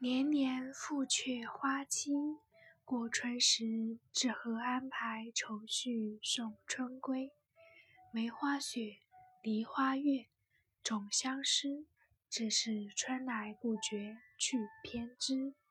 年年复却花期，过春时只合安排愁绪送春归。梅花雪，梨花月，总相思，只是春来不觉去偏知。